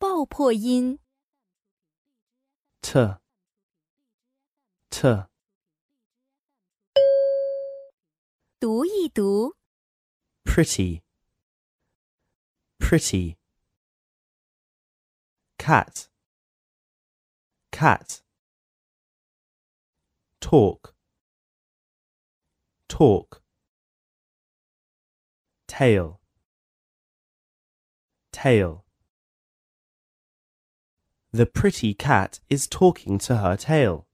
爆破音 t, t, 读一读 pretty, pretty, cat, cat, talk, talk, tail, tail. The pretty cat is talking to her tail.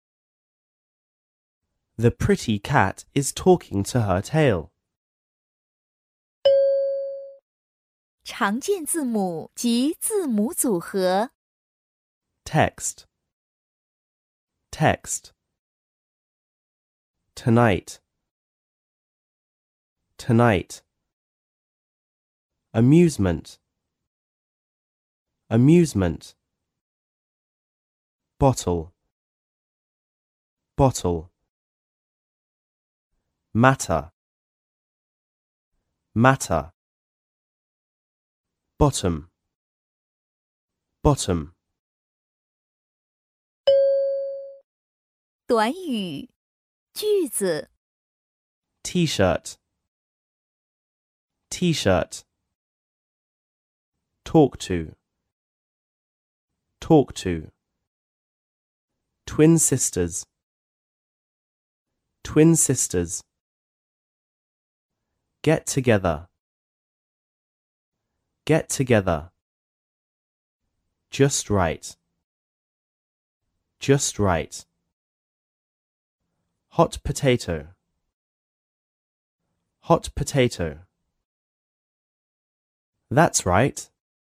The pretty cat is talking to her tail. 常见字母及字母组合 Text, text. Tonight, tonight. Amusement, amusement. Bottle, bottle. Matter, matter. Bottom, bottom. 短语句子 T-shirt, T-shirt. Talk to, talk to. Twin sisters, twin sisters. Get together, get together. Just right, just right. Hot potato, hot potato. That's right,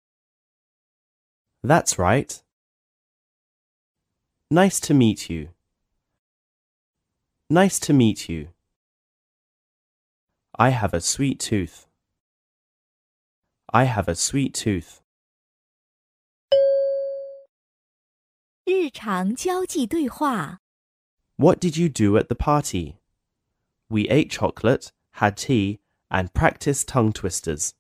that's right. Nice to meet you, nice to meet you. I have a sweet tooth, I have a sweet tooth. 日常交际对话 What did you do at the party? We ate chocolate, had tea, and practiced tongue twisters.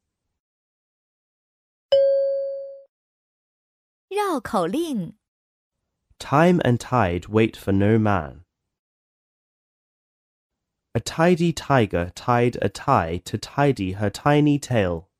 绕口令 Time and tide wait for no man. A tidy tiger tied a tie to tidy her tiny tail.